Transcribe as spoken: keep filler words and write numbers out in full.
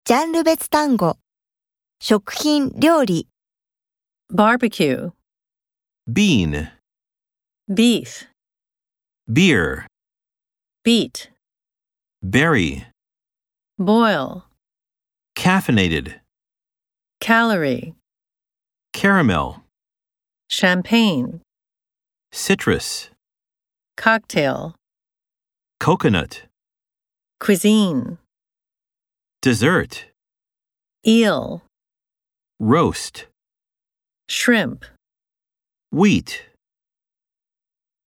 ジャンル別単語。食品、料理。 barbecue, bean, beef, beer, beet, berry, boil, caffeinated, calorie, caramel, champagne, citrus, cocktail, coconut, cuisine, dessert, eel, roast, shrimp. wheat.